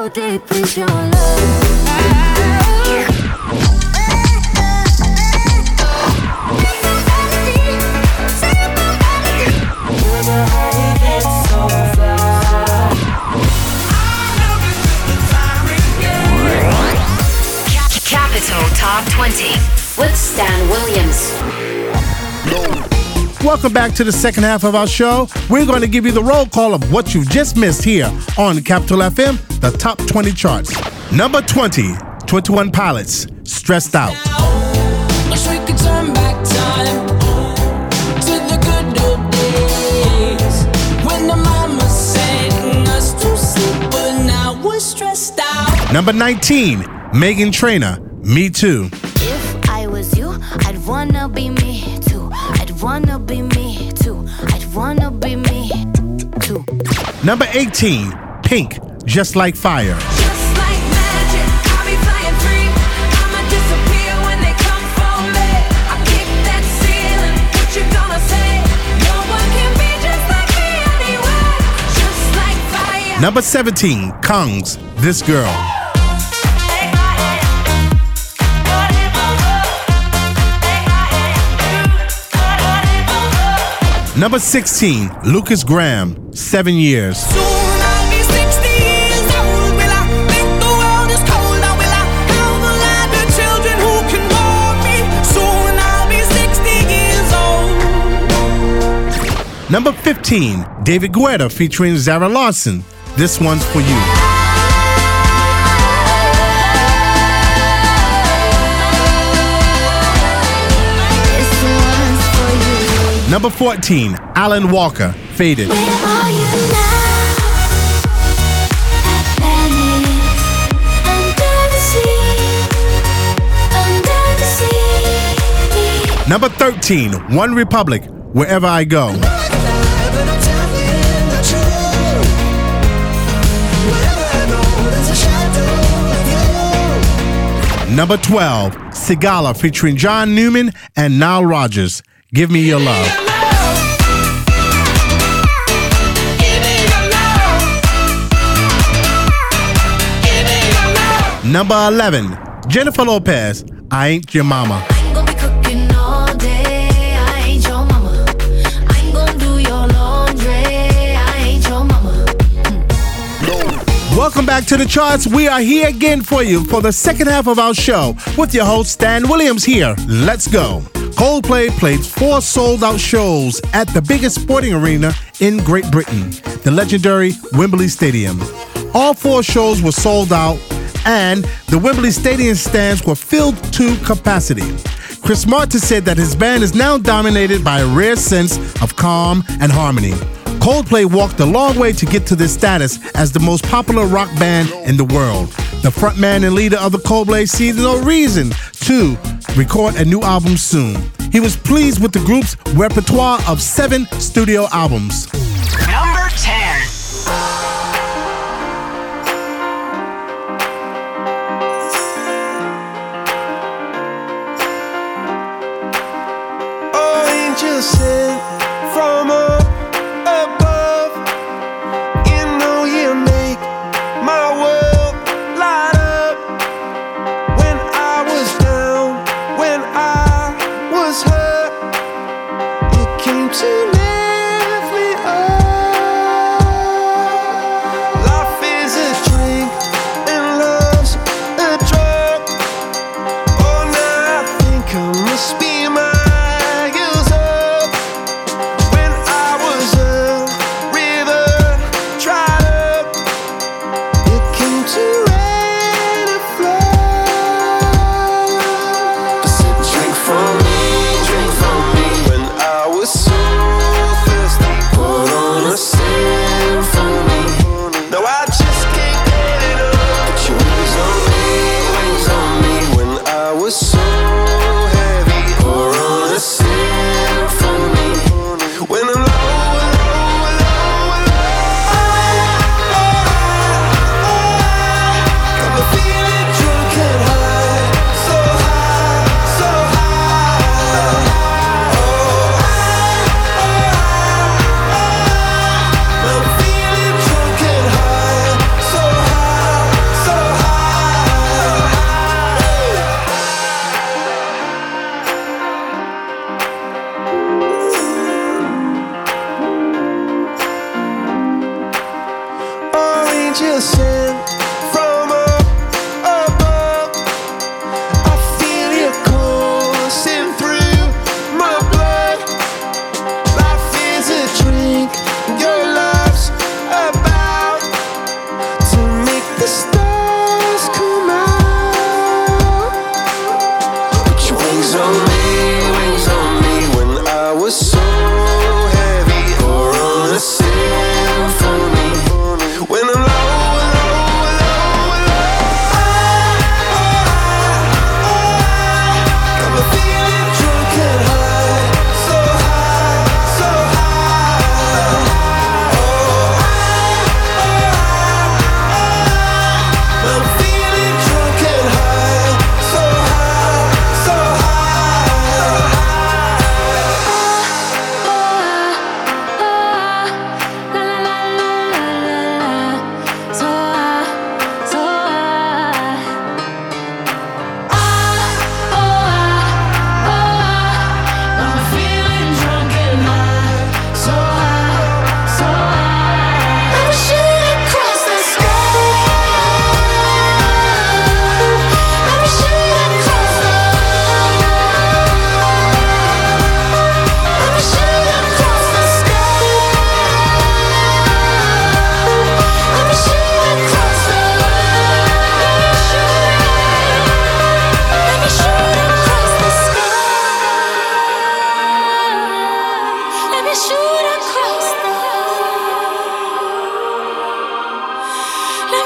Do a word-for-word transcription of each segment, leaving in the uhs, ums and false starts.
so deep into your love. Capital Top twenty with Stan Williams. Welcome back to the second half of our show. We're going to give you the roll call of what you've just missed here on Capital F M, the top twenty charts. Number twenty, twenty-one Pilots, Stressed Out. Wish we could turn back time to the good old days when the mama sang us to sleep, but now we're stressed out. Number nineteen, Meghan Trainor, Me Too. If I was you, I'd wanna be me too. I'd wanna be me too. I'd wanna be me too. Number eighteen, Pink, Just Like Fire. Just like magic, I'll be flying free. I'ma disappear when they come for me. I kick that ceiling, what you gonna say? No one can be just like me anyway. Just like fire. Number seventeen, Kongs, This Girl. Number sixteen, Lucas Graham, Seven Years. Soon I'll be sixty years old. Will I think the world is cold? Or will I help a lot of children who can mold me? Soon I'll be sixty years old. Number fifteen, David Guetta featuring Zara Larsson, This One's For You. This one's for you. Number fourteen, Alan Walker, Faded. Where are you now? At Venice, under the sea, under the sea. Number thirteen, One Republic, Wherever I Go. Number twelve, Sigala featuring John Newman and Nile Rodgers, Give Me Your Love. Number eleven, Jennifer Lopez, I Ain't Your Mama. I ain't gonna be cooking all day. I ain't your mama. I ain't gonna do your laundry. I ain't your mama. Welcome back to the charts. We are here again for you for the second half of our show with your host Stan Williams here. Let's go. Coldplay played four sold-out shows at the biggest sporting arena in Great Britain, the legendary Wembley Stadium. All four shows were sold out, and the Wembley Stadium stands were filled to capacity. Chris Martin said that his band is now dominated by a rare sense of calm and harmony. Coldplay walked a long way to get to this status as the most popular rock band in the world. The frontman and leader of the Coldplay sees no reason to record a new album soon. He was pleased with the group's repertoire of seven studio albums. Number ten. Oh, angels sent from up above. You know you make my world light up. When I was down, when I was hurt, you came to lift me up.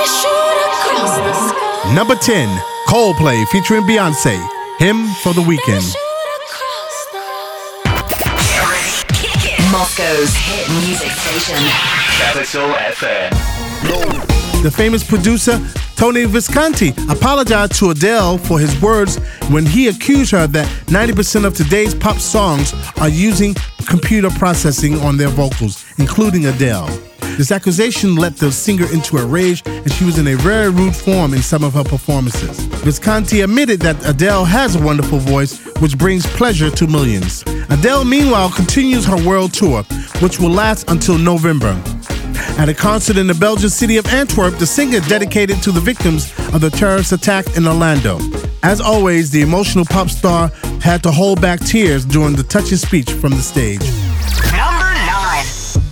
Number ten, Coldplay featuring Beyonce, Hymn for the Weekend. Moscow's hit music station. Capital F M. The famous producer Tony Visconti apologized to Adele for his words when he accused her that ninety percent of today's pop songs are using computer processing on their vocals, including Adele. This accusation led the singer into a rage, and she was in a very rude form in some of her performances. Visconti admitted that Adele has a wonderful voice, which brings pleasure to millions. Adele, meanwhile, continues her world tour, which will last until November. At a concert in the Belgian city of Antwerp, the singer dedicated to the victims of the terrorist attack in Orlando. As always, the emotional pop star had to hold back tears during the touching speech from the stage. Number nine.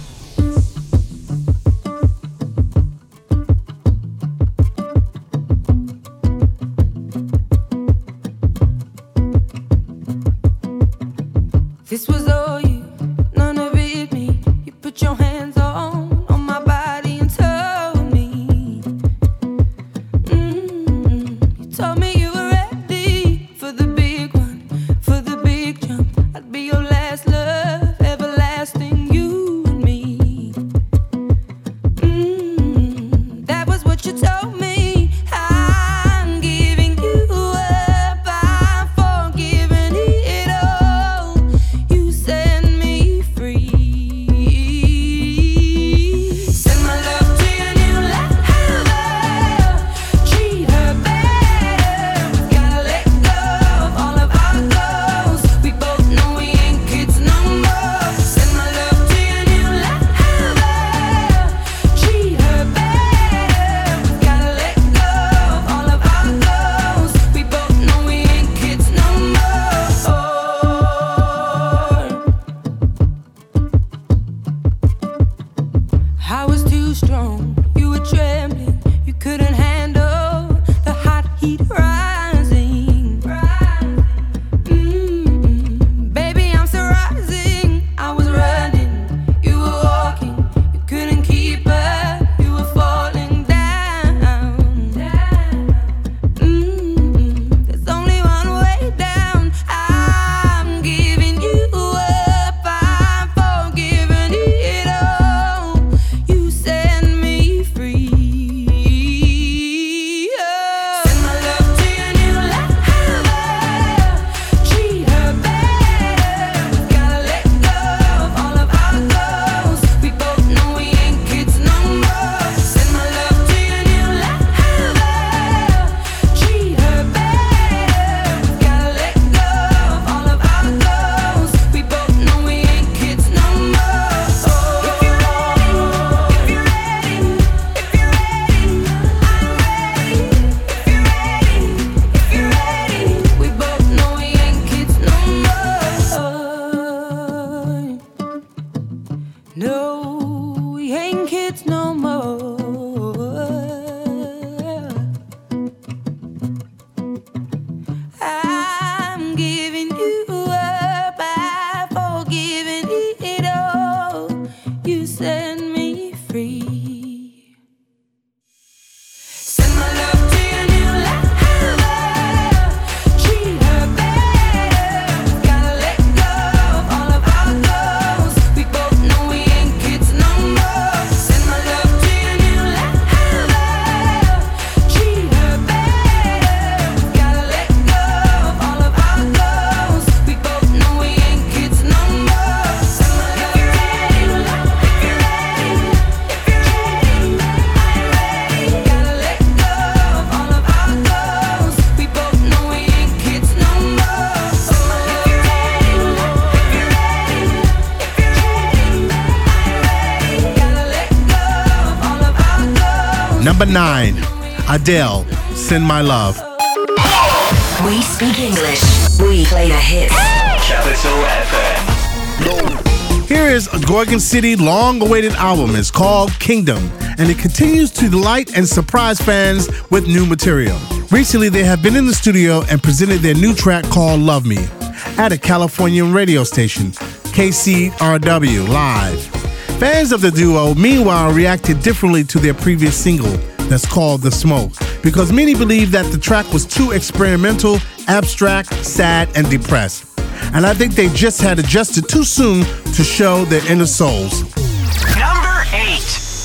This was all you, none of it me. You put your hands on, on my body and told me. Mm-hmm. You told me you were ready for the big one, for the big jump. I'd be your last love, everlasting, you and me. Mm-hmm. That was what you told me. I'm giving you up, I'm forgiving it all. You set me free. Send my love to your new lover. Treat her better. We've gotta let go of all of our goals. We both know we ain't kids no more. Send my love to your new lover. Treat her better. We've gotta let go of all of our goals. We both know we ain't kids no more. I was too strong, you were trembling, you couldn't handle the hot heat rising. Mm-mm. Baby, I'm still rising. I was running, you were walking, you couldn't keep up, you were falling down. Mm-mm. There's only one way down. I'm giving you up, I'm forgiving it all. You set me free. Oh. Send my love to your new lover. Treat her better. We've gotta let go of all of our goals. We both know we ain't kids no more. Send my love to your new lover. Treat her better. We've gotta let go of all of our goals. We both know we ain't kids no more. If you're ready, if you're ready, if you're ready, I'm ready. If you're ready, if you're ready, we both know we ain't kids no more. No, we ain't kids no more. I'm giving you up, I've forgiven it all. You set me free. Send my love to your new lover. Treat her better. We've gotta let go of all of our goals. We both know we ain't kids no more. Send my love to your new lover. Treat her better. We've gotta let go of all of our goals. We both know we ain't kids no more. Send my love to your new lover. If you're ready, if you're ready, I'm ready. Gotta let go of all of our goals. We both know we ain't kids no more. If you're ready, if you're ready, if you're ready, I'm ready. Gotta let go of all of our goals. Number nine, Adele, Send My Love. We speak English. We play the hits. Capital F M. Here is a Gorgon City long-awaited album. It's called Kingdom, and it continues to delight and surprise fans with new material. Recently, they have been in the studio and presented their new track called Love Me at a Californian radio station, K C R W Live. Fans of the duo, meanwhile, reacted differently to their previous single, that's called The Smoke, because many believe that the track was too experimental, abstract, sad, and depressed. And I think they just had adjusted too soon to show their inner souls. Number eight.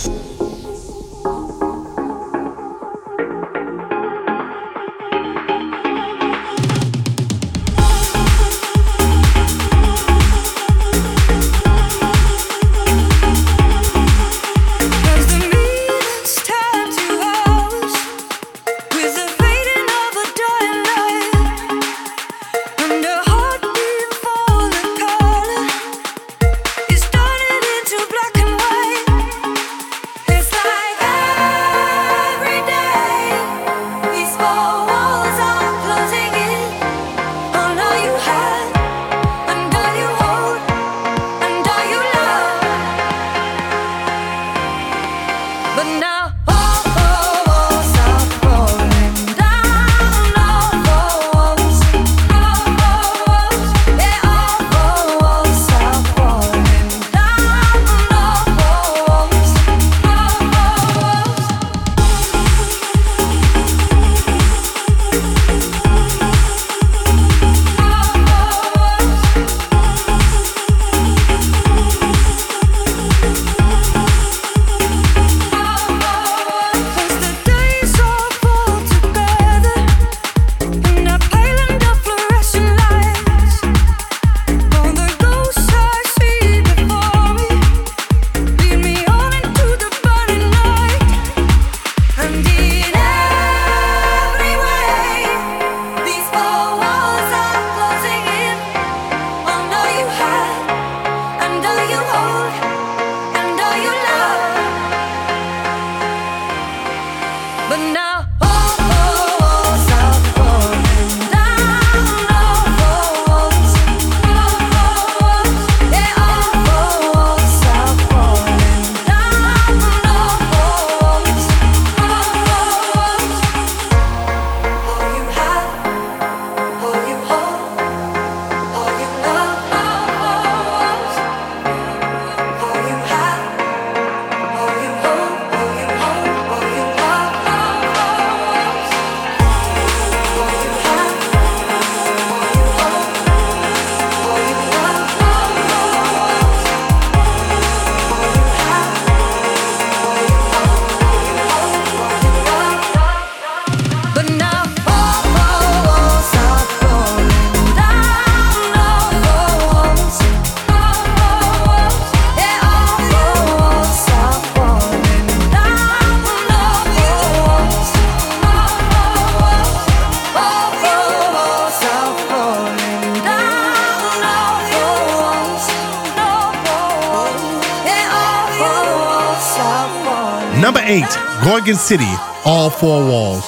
Number eight, Gorgon City, All Four Walls.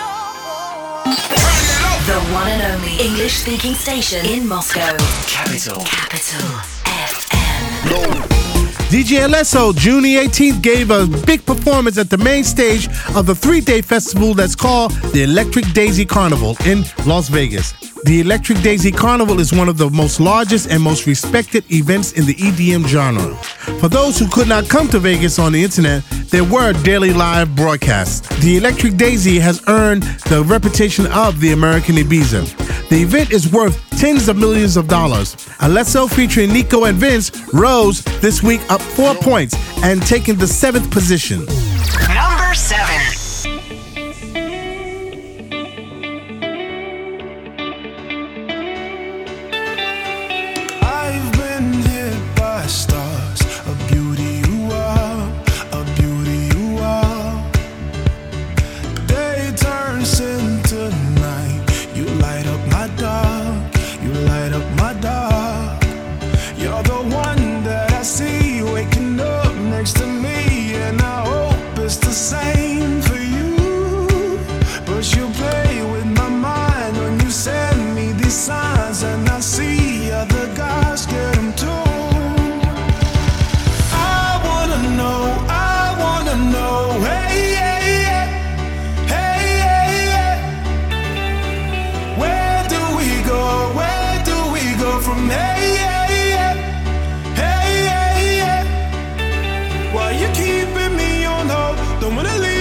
The one and only English-speaking station in Moscow. Capital. Capital F M. D J Alesso, June the eighteenth, gave a big performance at the main stage of the three-day festival that's called the Electric Daisy Carnival in Las Vegas. The Electric Daisy Carnival is one of the most largest and most respected events in the E D M genre. For those who could not come to Vegas on the internet, there were daily live broadcasts. The Electric Daisy has earned the reputation of the American Ibiza. The event is worth tens of millions of dollars. Alesso featuring Nico and Vince rose this week up four points and taking the seventh position. Number seven. I've been hit by stars, a beauty you are, a beauty you are. Day turns into night, you light up my dark, you light up my dark. You're the one that I see waking up next to me, and I hope it's the same for you. But you play with my mind when you send me these signs, and I see other guys get them too. I wanna know, I wanna know, hey, hey, hey, hey, hey, hey. Where do we go, where do we go from hey, hey, hey, hey, hey, hey. Why you keeping me on hold, don't wanna leave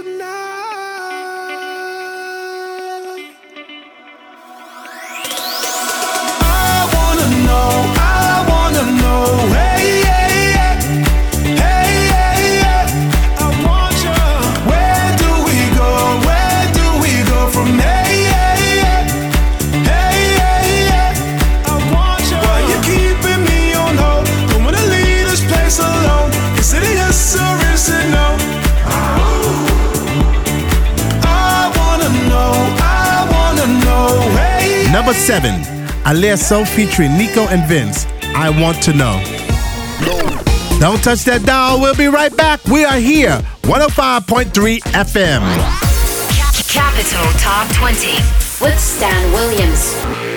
Number seven, Alesso featuring Nico and Vince, I Want to Know. Don't touch that dial. We'll be right back. We are here, one oh five point three F M. Capital Top twenty with Stan Williams.